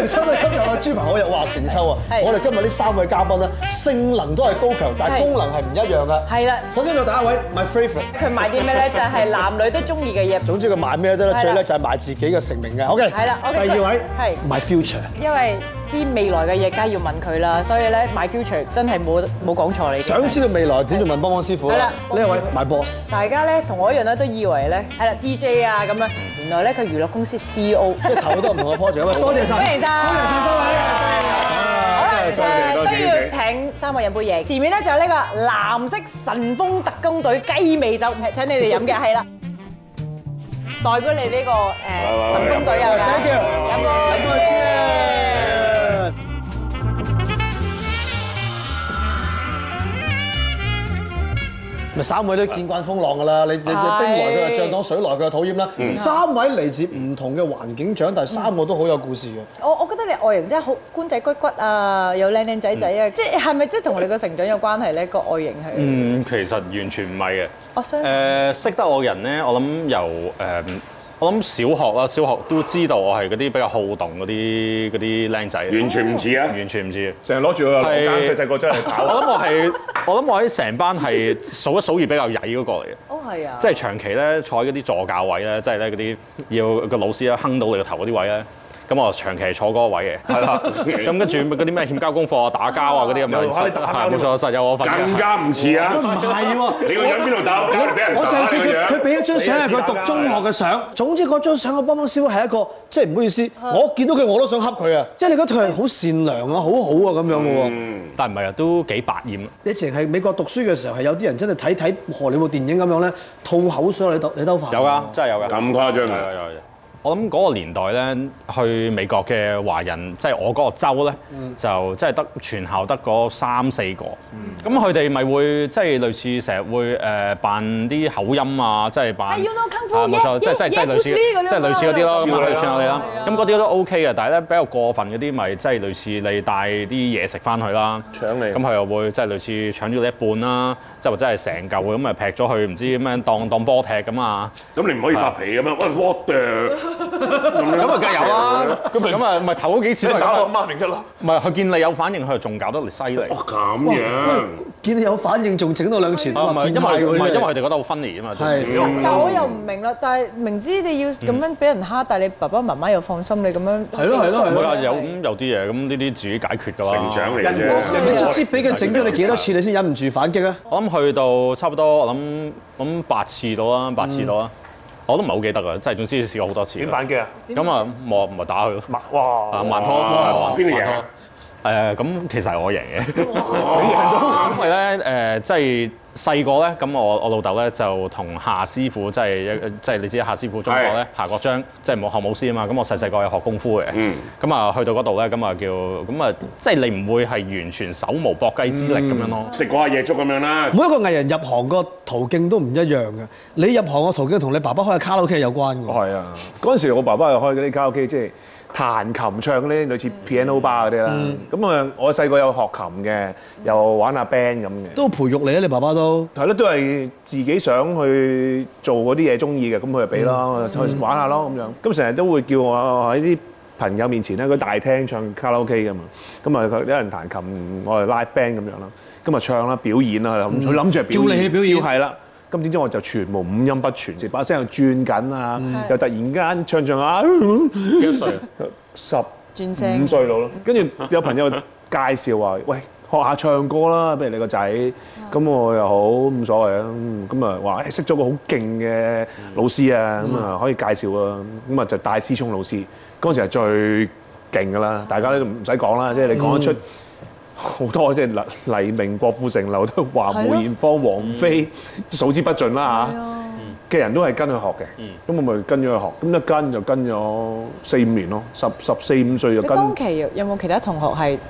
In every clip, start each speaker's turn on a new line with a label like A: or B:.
A: 歡迎收睇今日嘅豬扒好友，哇勁抽啊！我哋今日呢3位嘉賓咧，性能都係高強，但係功能係唔一樣㗎。
B: 係啦，
A: 首先就第一位 My Favorite，
B: 佢賣啲咩咧？就係男女都中意嘅嘢。
A: 總之佢賣咩都得，最叻就係賣自己嘅成名嘅。OK，
B: 係啦。
A: 第二位
B: 係
A: My Future，
B: 因為啲未來嘅嘢梗係要問佢啦，所以咧 My Future 真係冇講錯你。
A: 想知道未來點就問邦邦師傅啦。呢一位 My Boss，
B: 大家咧同我一樣咧都以為咧係啦 DJ 啊咁樣，原來咧佢娛樂公司 CEO，
A: 即係投好多唔同嘅 project。多謝晒，
B: 歡迎晒，
A: 多謝3位。
B: 好啦，都要請3位飲杯嘢。前面咧就有呢個藍色神風特工隊雞尾酒，請你哋飲嘅係啦，代表你呢個神風隊有㗎。
A: Thank you，
B: 飲杯。
A: 咪3位都見慣風浪㗎啦，你冰來佢就漲檔，水來佢就討厭啦。3位嚟自唔同嘅環境長大，3個都好有故事嘅。
B: 我覺得你外形真係好官仔骨骨啊，又靚仔仔啊，即係咪即係同你個成長有關係咧？個外形係
C: 其實完全唔係嘅。識得我嘅人咧，我諗由我諗小學啦，小學都知道我係嗰啲比較好動嗰啲僆仔。
D: 完全唔似啊！
C: 完全唔似，
D: 成日攞住個羅間細個出嚟跑。
C: 我諗我喺成班係數一數二比較曳嗰個嚟嘅。
B: 哦，係啊！
C: 即係長期咧坐喺嗰啲助教位咧，即係咧嗰啲要個老師咧哼到你個頭嗰啲位咧。咁我長期係坐嗰個位嘅，係啦。咁跟住嗰啲咩欠交功課啊、打交啊嗰啲咁樣，冇錯，實有我份。
D: 更加唔似啊！
A: 唔係喎，
D: 你個樣邊度打交俾人打？
A: 我上次佢俾一張相係佢讀中學嘅相，總之嗰張相我邦邦師傅係一個，即係唔好意思，我見到佢我都想恰佢啊！即係你嗰套係好善良啊、好好啊咁樣嘅喎。
C: 但唔係啊，都幾百厭。
A: 你淨係美國讀書嘅時候係有啲人真係睇荷里活電影咁樣咧，吐口水你兜飯。
C: 有㗎，真係有㗎。
D: 咁誇張啊！
C: 有。我諗嗰個年代咧，去美國嘅華人，即係我嗰個州咧，就即係得全校得嗰3-4個。咁佢哋咪會即係類似成日會扮啲口音啊，即係扮冇錯，即係類似嗰啲咯，咁類似我哋啦。咁嗰啲都 OK 嘅，但係咧比較過分嗰啲咪即係類似你帶啲嘢食翻去啦，
D: 搶你。
C: 咁佢又會即係類似搶咗你一半啦，即係或者係成嚿咁咪劈咗去唔知點樣當波踢咁啊。
D: 咁你唔可以發脾咁樣，喂 what the？
C: 咁啊，梗係有啦。咁啊，咪頭嗰幾次都係
D: 打我
C: 咁。
D: 媽咪得啦。
C: 唔係，佢見你有反應，佢就仲搞得嚟犀利。
D: 哦，咁樣。
A: 見你有反應，仲整到2錢。
C: 唔係因為佢哋覺得好 funny 啊嘛。
A: 係。
B: 但我又唔明啦，但係明知你要咁樣俾人蝦，但係你爸爸媽媽又放心你咁樣。
A: 係咯。
C: 唔係啊，有啲嘢咁呢啲自己解決㗎啦。
D: 成長嚟啫。
A: 人哋卒之俾佢整咗你幾多次，你先忍唔住反擊啊？
C: 我諗去到差唔多，我諗8次到啦，8次到啦。我都唔係好記得啊，即係總之試過好多次。
D: 點反擊啊？
C: 咁啊，咪打佢咯。
D: 哇！
C: 慢拖。
D: 邊個贏？
C: 咁其實係我贏嘅。因為咧即係細個咧，咁我老豆咧就同夏師傅，即係你知夏師傅中國咧，夏國璋即係學武師啊嘛。咁我細個有學功夫嘅。咁啊去到嗰度咧，咁啊即係你唔會係完全手無搏雞之力咁樣咯。
D: 食過下夜粥咁樣啦。
A: 每一個藝人入行個途徑都唔一樣嘅。你入行個途徑同你爸爸開嘅卡拉 OK 有關㗎。
E: 係啊，嗰陣時我爸爸又開嗰啲卡拉 OK，即係彈琴唱嗰啲類似 piano bar 嗰啲啦。咁我細個有學琴嘅，又玩下 band 咁嘅。都培育你啊！你爸爸都係咯，都係自己想去做嗰啲嘢中意嘅，咁佢就俾咯，去玩下咯咁樣。咁成日都會叫我喺啲朋友面前咧，嗰大廳唱卡拉 OK 㗎嘛。咁啊，有人彈琴，我係 live band 咁樣啦。咁啊唱啦，表演啦，佢諗住係表演。
A: 叫你去表演。
E: 係啦。咁點知我就全部五音不全，成把聲又轉緊啊，又突然間唱啊，
C: 幾多歲啊
E: ？15歲到咯。跟住有朋友介紹話：喂，學下唱歌啦，不如你個仔。咁我又好冇所謂啊。咁啊話識咗個好勁嘅老師啊，咁啊可以介紹啊。咁啊就戴思聰老師，嗰陣時係最勁㗎啦，大家都唔使講啦，即係你講得出。好多即係黎明、郭富城、劉德華、梅艷芳、王菲，數之不盡啦嚇。嘅人都係跟佢學嘅，咁我咪跟咗佢學，咁一跟就跟咗4-5年咯，14-15歲就跟。
B: 你當期有冇其他同學係即係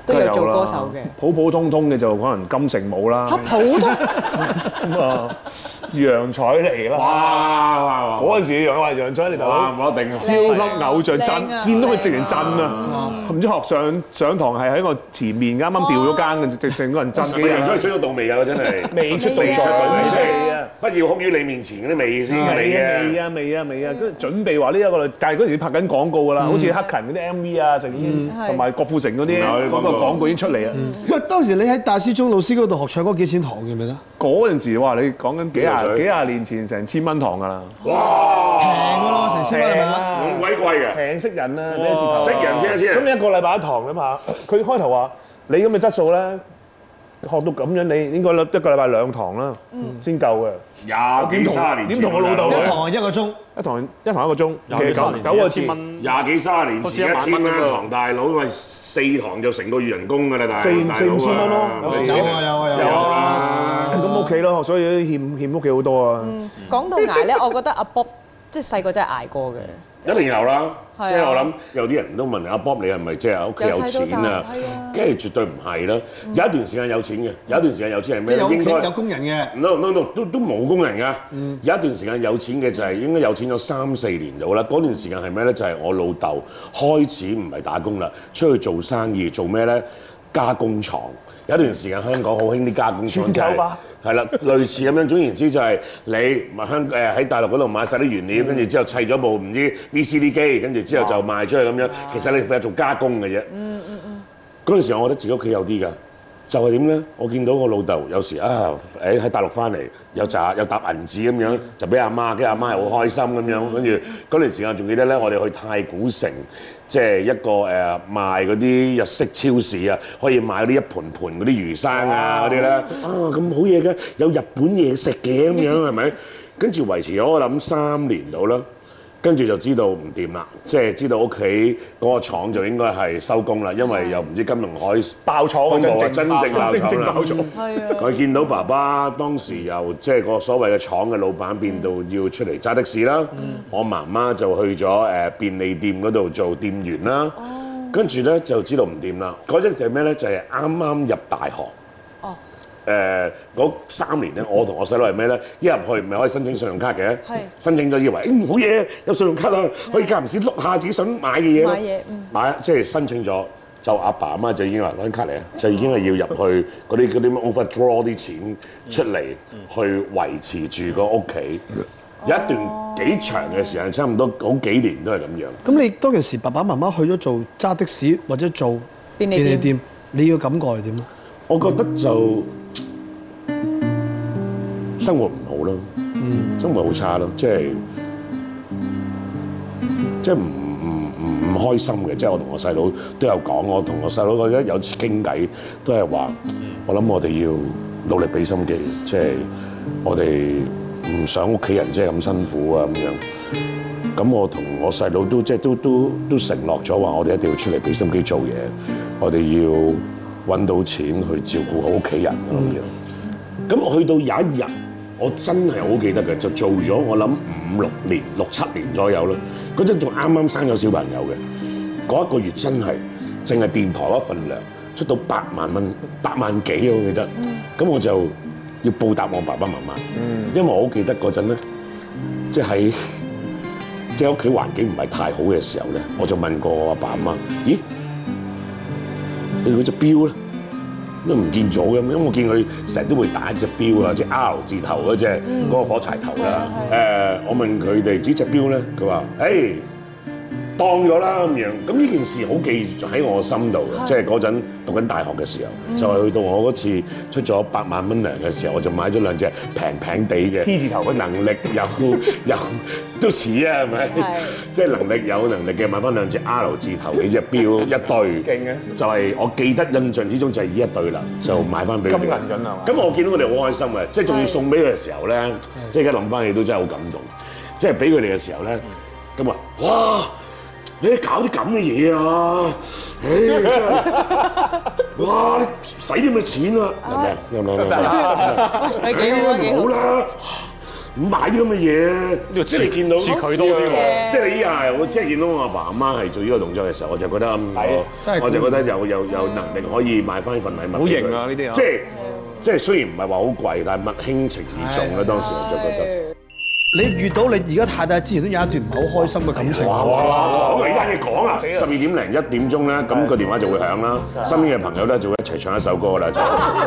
B: 都有做歌手嘅。
E: 普普通通嘅就可能金城武啦。
B: 普通
E: 咁啊，楊采妮啦。
D: 哇！
E: 嗰陣時楊采妮大佬
D: 冇得頂啊！
E: 超級偶像震，
B: 靚啊
E: 見到佢直情震啊！唔知學上堂係喺我前面啱啱掉咗間嘅，成個人震幾
D: 楊采妮
E: 日。
D: 出咗道未㗎？真係
E: 未出道
B: 未出道
E: 未
D: 未啊！不要哭於你面前嗰啲未先㗎你啊！
E: 未啊！跟住準備話呢一個，但係嗰陣時拍緊廣告㗎啦，好似黑勤嗰啲 MV 啊，成已同埋郭富城嗰啲嗰個廣告已經出嚟啦。
A: 喂，當時你喺戴思聰老師嗰度學唱歌幾錢堂記唔記得？
E: 嗰陣時哇，你講緊幾廿年前成千蚊堂㗎啦，
D: 哇！
A: 平㗎咯，成千蚊係咪啊？
D: 咁鬼貴嘅，
E: 平識人啊，呢一字頭
D: 識人先啊！
E: 咁你一個禮拜一堂啊嘛，佢開頭話你咁嘅質素咧，學到咁樣，你應該一個禮拜2堂啦，先夠嘅。
D: 廿幾30年前
E: 點同我老豆
A: 一堂係1個鐘，
E: 一堂1個鐘，其實9個字，
D: 廿幾30年前1000蚊一堂，大佬喂4堂就成個月人工㗎啦，大佬
E: 4-5千蚊咯，
A: 有啊，
E: 咁屋企咯，所以欠屋企好多啊。
B: 講到捱咧，我覺得阿 Bob 即係細個真係捱過嘅。
D: 一定有啦，
B: 係啊
D: 即係我諗有啲人都問阿 Bob 你係咪即係屋企有錢啊？跟住絕對唔係啦，有一段時間有錢嘅，有一段時間有錢係咩？
A: 即係有屋企
D: 應該
A: 有工人嘅。
D: no 都冇工人㗎。有一段時間有錢嘅就係應該有錢咗3-4年到啦。嗰段時間係咩咧？就係我老豆開始唔係打工啦，出去做生意，做咩咧？加工廠。有一段時間香港好興啲加工廠，就係啦，類似咁樣。總言之就係你喺大陸嗰度買晒啲原料，跟住之後砌咗部唔知 VCD 機，跟住之後就賣出去咁樣。其實你負責做加工嘅啫。嗰陣時我覺得自己屋企有啲㗎，就係點咧？我見到我老豆有時喺大陸翻嚟有搭銀紙咁樣，就俾阿媽，跟住阿媽係好開心咁樣。跟住嗰段時間仲記得咧，我哋去太古城。即係一個賣嗰啲日式超市啊，可以買嗰啲一盤盤嗰啲魚生啊嗰啲咧，咁好嘢嘅，有日本嘢食嘅咁樣係咪？跟住維持咗我諗3年到啦，跟住就知道唔掂啦，即係知道屋企嗰個廠就應該係收工啦，因為又唔知金融海爆廠啊，真正爆廠啦。佢見到爸爸當時由即係個所謂嘅廠嘅老闆變到要出嚟揸的士啦，我媽媽就去咗便利店嗰度做店員啦，跟住咧就知道唔掂啦。嗰陣就係咩咧？就係啱啱入大學。嗰3年咧，我同我細佬係咩咧？一入去唔係可以申請信用卡嘅，申請咗以為好嘢，有信用卡啦，可以間唔時碌下自己想買嘅嘢咯。買即係申請咗，就阿爸阿媽就已經話攞張卡嚟啊，就已經係要入去嗰啲 overdraw 啲錢出嚟去維持住個屋企。有一段幾長嘅時間，差唔多好幾年都係咁樣。
A: 咁你當其時爸爸媽媽去咗做揸的士或者做便利店，你嘅感覺係點咧？我覺得就
D: 生活唔好咯，生活好差咯，即係唔開心嘅。即係我同我細佬都有講，我同我細佬覺得有次傾偈都係話，我諗我哋要努力俾心機，即係我哋唔想屋企人即係咁辛苦啊咁樣。咁我同我細佬都即係都承諾咗話，我哋一定要出嚟俾心機做嘢，我哋要揾到錢去照顧好屋企人咁樣。咁我去到有一日，我真係好記得嘅，就做咗我諗6-7年左右啦。嗰陣仲啱啱生咗小朋友嘅，嗰1個月真係淨係電台嗰份糧出到8萬蚊，8萬幾我記得。咁我就要報答我爸爸媽媽，因為我好記得嗰陣咧，即係屋企環境唔係太好嘅時候咧，我就問過我阿爸阿媽：咦，你嗰隻錶咧？都唔見咗嘅，因為我見佢成日都會打一隻錶啊，即係 R 字頭嗰隻嗰個火柴頭啦。我問佢哋呢隻錶咧，佢話：誒當咗啦咁樣。咁呢件事好記喺我心度嘅，即係嗰陣讀緊大學嘅時候，就係去到我嗰次出咗8萬蚊糧嘅時候，我就買咗2隻平地嘅 T 字頭嘅，能力有都似啊，係咪？即係能力有能力嘅買翻2隻 R 字頭嘅隻錶一對，勁嘅，就係我記得印象之中就係呢一對啦，就買翻俾佢。金銀緊係嘛？咁我見到佢哋好開心嘅，即係仲要送俾佢嘅時候咧，即係而家諗翻起都真係好感動。即係俾佢哋嘅時候咧，咁話哇！你搞啲咁嘅嘢啊！真係，哇！你使啲咁嘅錢啊？係咪？幾好啦！ 唔買啲咁嘅嘢，即係你見到
C: 似佢多啲喎。
D: 即係你依下我即係見到我阿爸阿媽係做呢個動作嘅時候，我就覺得我就覺得有能力可以買翻呢份禮物。
E: 好型啊！呢啲
D: 即係雖然唔係話好貴，但係物輕情義重啦。當時我就覺得。
A: 你遇到你而家太太之前都有一段唔係好開心嘅感情。
D: 哇！講呢單嘢講啊，12點零1點鐘咧，咁個電話就會響啦。身邊嘅朋友咧就會一齊唱一首歌啦。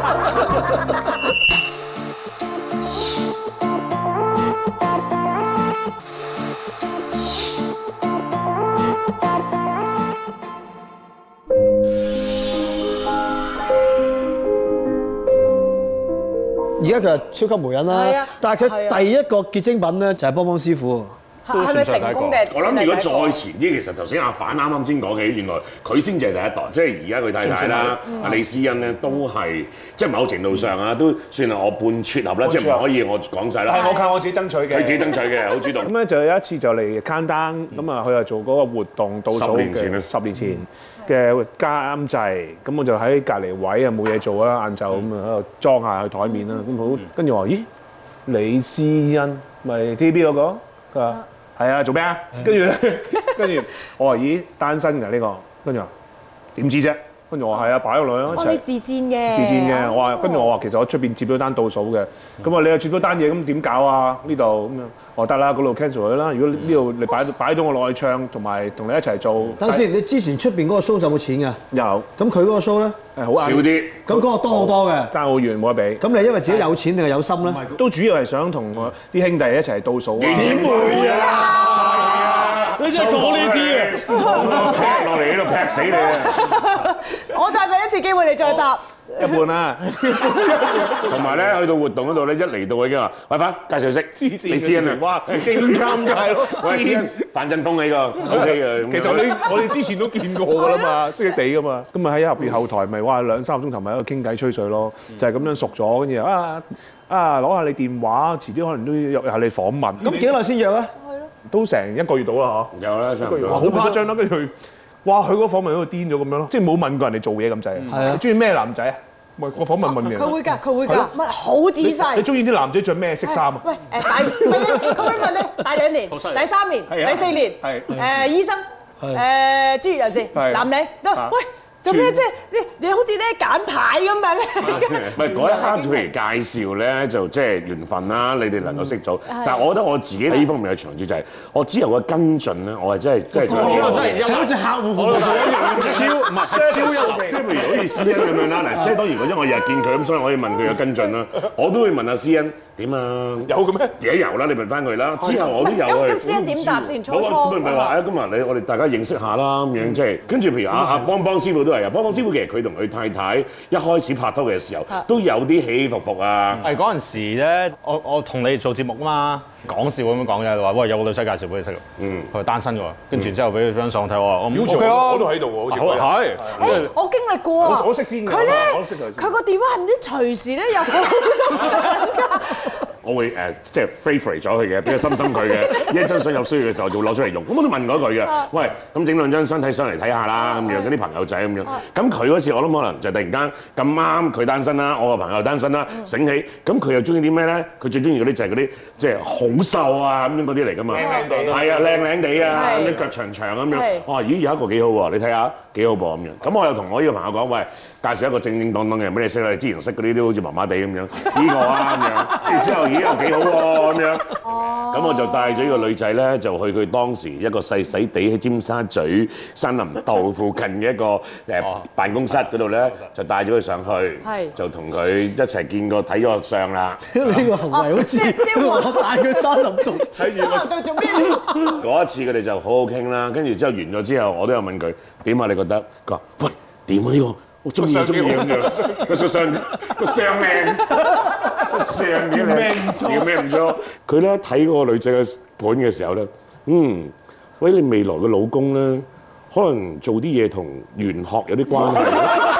A: 而家佢係超級媒人啦，但係佢第一個結晶品咧就係邦邦師傅。
B: 係咪成功嘅？
D: 我諗如果再前啲，其實頭先阿反啱啱先講起，原來佢先至係第一代，即係而家佢太太啦，阿李思欣咧都係即係某程度上啊，都算係我半撮合啦，即係唔可以我講晒啦。
E: 係我靠我自己爭取嘅，
D: 佢自己爭取嘅，好主動。
E: 咁咧就有一次就嚟攤單，咁啊佢又做嗰個活動倒數嘅10年前嘅監製，咁我就喺隔離位啊冇嘢做啦，晏晝咁啊喺度裝下佢台面啦，咁好跟住我話咦李思欣咪 TVB 嗰個？佢話。係啊，做咩啊？跟住我話咦單身㗎呢個，跟住話點知啫？跟住我話係啊，擺咗女咯一齊。
B: 你自薦嘅。
E: 自薦嘅，我話跟住我話其實我出邊接咗單倒數嘅，咁啊你又接咗單嘢，咁點搞啊？呢度咁樣，我得啦，嗰度 cancel 佢啦。如果呢度你擺咗我落去唱，同埋同你一齊做。
A: 等先，你之前出邊嗰個 show 有冇錢㗎？
E: 有。
A: 咁佢嗰個 show 咧？
E: 好
D: 少啲。
A: 咁嗰個多好多嘅。
E: 爭好遠冇得比。
A: 咁你因為自己有錢定係有心咧？
E: 都主要係想同我啲兄弟一齊倒數啊！
D: 點會啊！
A: 你真係講呢啲啊！
D: 劈落嚟呢度劈死你啊！
B: 我再俾一次機會你再答。
E: 一半啦。
D: 同埋咧，去到活動嗰度咧，一嚟到已經話：喂，快介紹識李思欣啊！
E: 哇，勁尷尬咯！
D: 喂，思欣，范振鋒呢個 OK 嘅。
E: 其實我哋之前都見過㗎啦嘛，識識地㗎嘛。咁咪喺入邊後台咪哇2-3個鐘頭咪喺度傾偈吹水咯，就係咁樣熟咗，跟住攞下你電話，遲啲可能都要約下你訪問。
A: 咁幾耐先約啊？
E: 都成1個月到啦嗬。
D: 有啦，差唔多。
E: 好誇張啦，跟住佢，哇！佢嗰個訪問喺度癲咗咁樣咯，即係冇問過人哋做嘢咁滯。係啊。你中意咩男仔啊？咪個訪問問嘅。
B: 佢會㗎，問好仔細。
E: 你中意啲男仔着咩色衫啊？
B: 喂，佢會問你大2年、第3年、第4年，醫生，專業人士，男女都喂。做咩即係你好似咧揀牌咁樣咧？
D: 唔係嗰一刻，譬如介紹咧，就即係緣分啦。你哋能夠識做，但係我覺得我自己喺呢方面嘅長處就係我之後嘅跟進咧，我係真係
C: 真係
A: 好似客戶服務
D: 超有味。即係譬如好似思欣咁樣啦，嗱，即係當然因為我日日見佢咁，所以我可以問佢嘅跟進啦。我都會問阿思欣點啊？
E: 有嘅咩？
D: 而家有啦，你問翻佢啦。之後我都有去。
B: 咁思欣點答先？初
D: 唔係話今日我哋大家認識下啦咁樣，即係跟住譬如阿邦師傅都係啊，邦師傅其實佢同佢太太一開始拍拖嘅時候都有啲起起伏伏啊。
C: 係嗰陣時咧，我同你做節目啊嘛，講笑咁樣講嘅，話喂有個女仔介紹俾你識，佢係單身㗎喎，跟住之後俾佢張相睇，我話
E: 我都喺度喎，好似
C: 係。
B: 我經歷過啊，
E: 我識先㗎，
B: 佢咧
E: 我識佢。
B: 佢個電話係唔知隨時咧有好多相㗎。
D: 我會即係 favorite 咗佢嘅，比較深佢嘅。一張相有需要嘅時候就會攞出嚟用。咁我都問過佢嘅，喂，咁整兩張相睇上嚟睇下啦，咁樣嗰啲朋友仔咁樣。咁佢嗰次我諗可能就突然間咁啱佢單身啦，我個朋友單身啦，醒起，咁佢又中意啲咩咧？佢最中意嗰啲就係嗰啲即係好瘦啊咁樣嗰啲嚟㗎嘛。係啊，靚靚地啊，咁樣腳長長咁樣。我話咦有一個幾好喎，你睇下幾好噃咁樣。咁我又同我呢個朋友講，喂，介紹一個正正當當嘅人俾你識啦。你之前識嗰啲都好似麻麻地咁樣，呢個啊咁樣。跟住之後咦又幾好喎咁樣。咁我就帶咗呢個女仔咧，就去佢當時一個細細地喺尖沙咀山林道附近嘅一個辦公室嗰度咧，就帶咗佢上去，就同佢一齊見過睇咗個相啦。
A: 呢個行為好似我帶佢山林道睇住
B: 山林道做咩？
D: 嗰一次佢哋就好好傾啦，跟住之後完咗之後，我都有問佢點啊？你覺得？佢話：喂，點啊呢個？我中意咁樣，個相靚，個相幾靚，叫咩唔錯？佢咧睇嗰個女仔嘅盤嘅時候咧，喂，你未來嘅老公咧，可能做啲嘢同玄學有啲關係。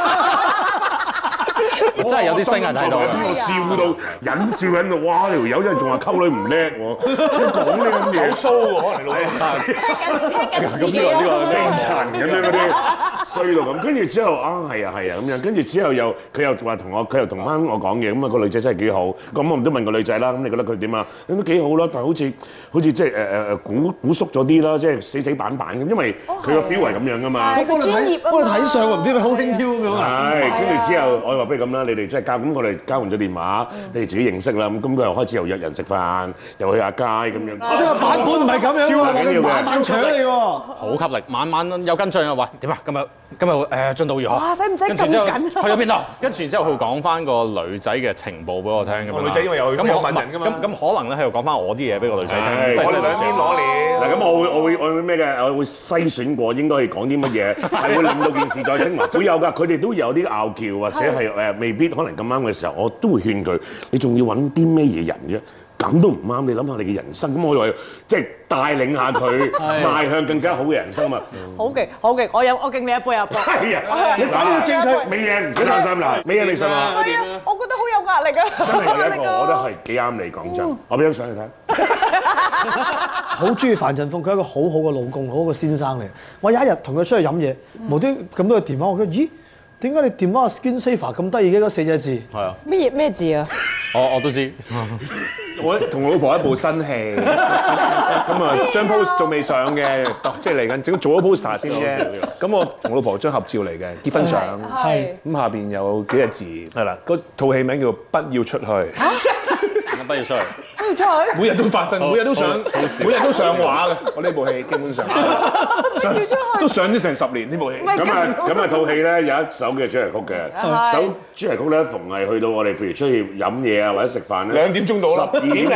C: 真係有啲聲人喺度，
D: 邊個笑到忍笑喺度？哇！條友真係仲話溝女唔叻喎，講呢咁嘢，
E: 好騷喎，可能你老公。
B: 聽緊自己啊！
D: 星塵咁樣嗰啲， 衰到咁，跟住之後係啊咁樣，跟住之後佢又話佢又同翻我講嘢，咁啊個女仔真係幾好，咁我唔都問個女仔啦，咁你覺得佢點啊？咁都幾好啦，但係好似即係古縮咗啲啦，即係死板板咁，因為佢個 feel 係咁樣噶嘛。
B: 係佢專業啊嘛，
A: 幫你睇相唔知咪好輕佻咁樣啊？
D: 係，跟住之後我話不如咁啦，你哋即係咁我哋交換咗電話，你哋自己認識啦，咁佢又開始又約人食飯，又去下街咁樣。
A: 即係版本唔係咁樣喎，我哋晚晚搶你喎。
C: 好吸力，晚晚有跟進啊！喂，點啊？今日進度如何？
B: 哇！使唔使咁緊啊？
C: 去咗邊度？跟住之後佢講翻個女仔嘅情報俾我聽咁樣。
E: 女仔因為有問人㗎嘛。
C: 咁可能咧喺度講翻我啲嘢俾個女仔聽。
E: 我哋兩邊攞料。
D: 嗱咁我會咩嘅？我會篩選過應該係講啲乜嘢，係會令到件事再升華。會有㗎，佢哋都有啲拗撬或者係未必可能咁啱嘅時候，我都會勸佢：你仲要揾啲咩嘢人啫？咁都唔啱，你諗下你嘅人生。咁我話即係帶領下佢邁向更加好嘅人生嘛。
B: 好勁，我敬你一杯啊！
D: 係啊，你反而敬佢，美嘢唔使擔心啦，美嘢你信嘛？
B: 係啊，我覺得好有壓力啊！
D: 真係有一個，我覺得係幾啱你講真。我俾張相你睇。
A: 好中意范振鋒，佢係一個好好嘅老公，好好嘅先生嚟。我有一日同佢出去飲嘢，無端咁多個電話，我覺得咦？點解你電話 Skin Saver 咁得意嘅嗰4隻字？
C: 係啊。
B: 咩字啊？
C: 我都知。
E: 我同老婆一部新戲，咁啊張 post 仲未上嘅，即係嚟緊做咗 poster 先啫。咁我同老婆張合照嚟嘅結婚相，
B: 係。
E: 咁下邊有幾隻字，係啦，嗰套戲名叫《不要出去》。
C: 不要出去。
B: 不要出去。
E: 每日都發生，每日都上畫嘅。我呢部戲基本上都上咗成10年呢部戲。
D: 咁啊套戲咧有一首嘅主題曲嘅，首主題曲咧逢係去到我哋譬如出去飲嘢啊或者食飯咧，
E: 2點鐘到啦，12點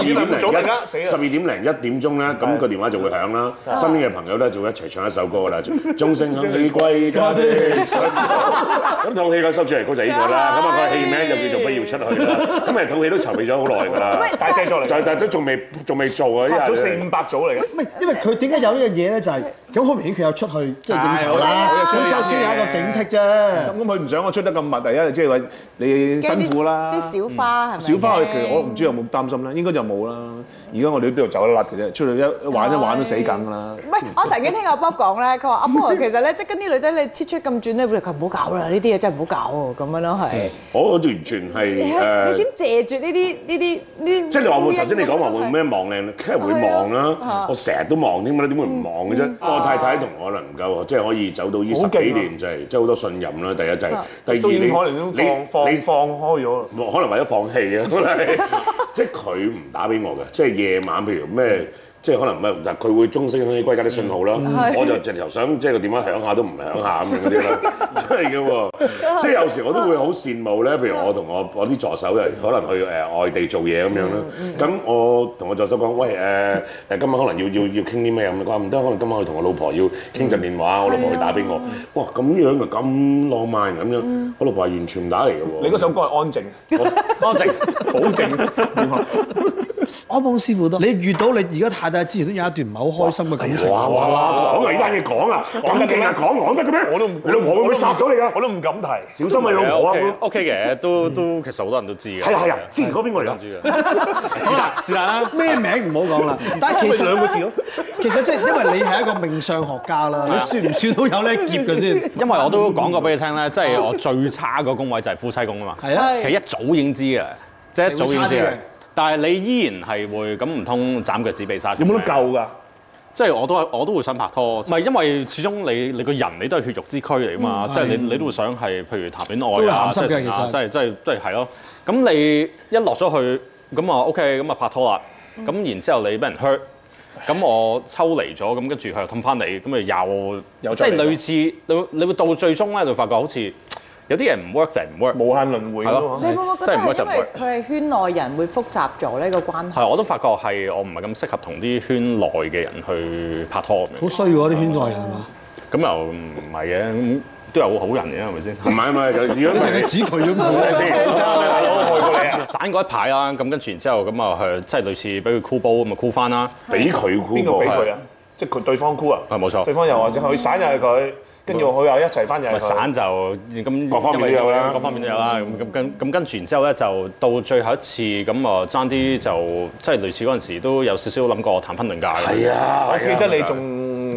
D: 零1點鐘咧，咁個電話就會響啦。身邊嘅朋友咧就會一齊唱一首歌啦，鐘聲響起歸家的信號。咁套戲個首主題曲就係呢個啦。咁啊個戲名就叫做不要出去啦。咁啊套戲都籌備咗好耐㗎啦，
E: 大製作嚟，
D: 但係都仲未做啊！
E: 拍咗400-500組嚟嘅。
A: 唔係，因為佢點解有呢樣嘢咧？就係咁好明顯，佢有出去即係應酬啦，咁所以先有一個警惕啫。
E: 咁佢唔想我出得咁密，第一即係話你辛苦啦。
B: 啲小花係咪？
E: 小花其實我唔知有冇擔心啦，應該就冇啦。而家我哋喺邊度走得甩嘅啫，出去一玩都死梗㗎啦。
B: 唔係，我曾經聽阿 Bob 講咧，佢話阿 Bob 其實咧，即係跟啲女仔你切出咁轉咧，佢唔好搞啦，呢啲嘢真係唔好搞喎，咁樣咯係。
D: 我完全係
B: 你點謝絕呢啲？
D: 即係你話會頭先你講話會咩望靚，梗係會望啦。我成日都望添嘛，點會唔望嘅啫？我太太同我能夠即係可以走到呢10幾年，就係即係好多信任啦。第一就係，第二你
E: 可能都你放開咗，
D: 可能為咗放棄啊！即係佢唔打俾我嘅，即係夜晚譬如咩。即係可能咩？但佢會鐘聲響起歸家啲信號啦，我就直頭想即係個電話響下都唔響下咁樣嗰啲啦，真係嘅喎。即係有時我都會好羨慕咧，譬如我同我啲助手又可能去外地做嘢咁樣啦。咁我同我助手講：喂今晚可能要傾啲咩咁？佢話唔得，可能今晚去同我老婆要傾陣電話，我老婆會打俾我。哇！咁樣就咁浪漫咁樣，我老婆係完全唔打嚟嘅喎。
E: 你嗰首歌係安靜，
C: 安靜，
E: 好靜。
A: 阿邦師傅都，你遇到你而家太太之前都有一段唔係好開心嘅感情。
D: 哇！講啊！呢單嘢講啊，咁勁啊，講得嘅咩？你老婆會唔會殺咗你㗎？
E: 我都唔敢提，
D: 小心你老婆啊
C: ！OK 嘅，都其實好多人都知嘅。
D: 係啊！之前嗰邊我嚟㗎。
C: 是但啦，
A: 咩名唔好講啦。但係其實
E: 2個字咯。
A: 其實即係因為你係一個命相學家啦，你算唔算都有呢劫嘅先？
C: 因為我都講過俾你聽咧，即係我最差個宮位就係夫妻宮啊嘛。
A: 係啊，
C: 其實一早已經知嘅，即係一早已經知嘅。但係你依然係會咁，唔通斬腳趾避沙蟲？
E: 有冇得救㗎？
C: 即係我都會想拍拖，唔係因為始終你個人你都係血肉之軀嚟㗎嘛，即係你都會想係譬如談戀愛啊，即係係咯。咁你一落咗去咁啊 OK，咁啊拍拖啦。咁然之後你俾人 hurt，咁我抽離咗，咁跟住佢又氹翻你，咁啊又即係類似你會到最終咧，就發覺好似。有啲人唔 work 就係唔 work，
E: 無限輪迴咯。
B: 你會唔會覺得係因為佢係圈內人會複雜咗呢個關係？
C: 係，我都發覺係我唔係咁適合同啲圈內嘅人去拍拖。
A: 好衰喎啲圈內人係嘛？
C: 咁又唔係嘅，咁都有好人嘅係咪先？
D: 唔係，如果你淨係指佢咁
E: 冇先，我愛過你啊！
C: 散嗰一排啦，咁跟住然之後咁啊，即係類似俾佢箍煲咁啊箍翻啦。
D: 俾佢箍？
E: 邊個俾佢啊？即係佢對方箍啊？
C: 係冇錯。
E: 對方又或者佢散又係佢。跟住佢又一齊翻入去，
C: 散就咁
D: 各方面都有啦，
C: 各方面都有啦。咁跟住然之後咧，就到最後一次咁啊，爭啲就即係類似嗰陣時都有少少諗過談婚論嫁嘅。
D: 係啊，
E: 我記得你仲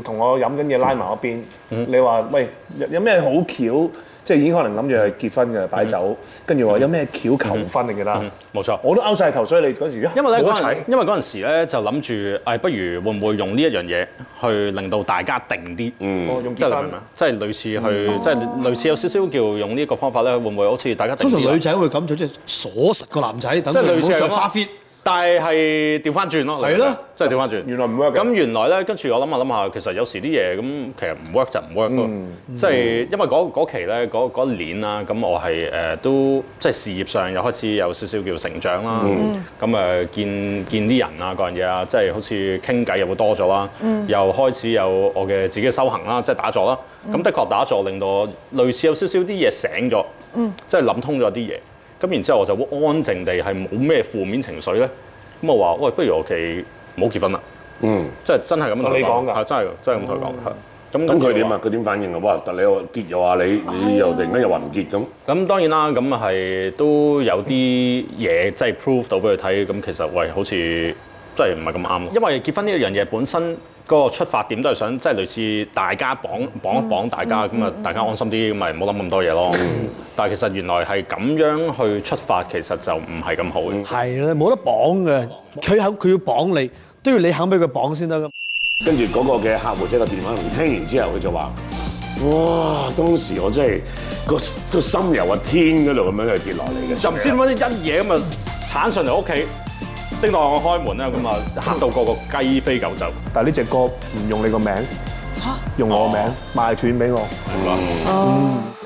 E: 同我飲緊嘢拉埋一邊，你話喂有咩好橋？即係已經可能諗住係結婚嘅擺酒，跟住話有咩橋求婚你記得？
C: 冇錯。
E: 我都勾晒頭，所以你嗰時
C: 因為咧
E: 冇得齊。
C: 因為嗰陣時咧就諗住誒，不如會唔會用呢一樣嘢去令到大家定啲？
E: 用
C: 即係你明唔
E: 結婚
C: 明？即係類似去，即係類似有少少叫用呢個方法咧，會唔會好似大家定啲啦
A: 通常女仔會咁做，即係鎖實個男仔，等
C: 即係類似
A: 佢唔好再
C: 係咁
A: 花 fit。
C: 但係調翻轉咯，
A: 係咯，
C: 即係調翻轉。
E: 原來唔 work 嘅
C: 咁原來咧，跟住我諗下，其實有時啲嘢咁其實唔 work 就唔 work 咯。即係因為嗰期咧，嗰年啦，咁我係都即係事業上又開始有少少叫成長啦。咁見啲人啊，嗰樣嘢啊，即係好似傾偈又會多咗啦。又開始有我嘅自己嘅修行啦，即係打坐啦。咁的確打坐令到我類似有少少啲嘢醒咗，即係諗通咗啲嘢。咁然之後我就好安靜地係冇咩負面情緒咧，咁我話喂，不如我哋唔好結婚啦，即係真係咁樣同佢
E: 你講㗎
C: 係真係咁同佢講，係
D: 咁佢點啊？佢點反應啊？哇！但你又結又話你又突然間又話唔結咁。
C: 咁當然啦，咁係都有啲嘢即係 prove 到俾佢睇，咁其實喂好似真係唔係咁啱，因為結婚呢一樣嘢本身。嗰個出發點都係想即係類似大家綁一綁大家咁啊，大家安心啲，咁咪唔好諗咁多嘢咯。但係其實原來係咁樣去出發，其實就唔係咁好嘅。
A: 係啦，冇得綁嘅，佢要綁你，都要你肯俾佢綁先得㗎。
D: 跟住嗰個嘅客戶即係個電話，聽完之後佢就話：哇！當時我真係個心由個天嗰度咁樣去跌落嚟嘅，
C: 就唔知點解一嘢咁啊鏟上嚟屋企。叮當我開門啦，咁啊嚇到個雞飛狗走。
E: 但係呢隻歌唔用你個名，用我個名賣斷俾我。
C: 係嘛？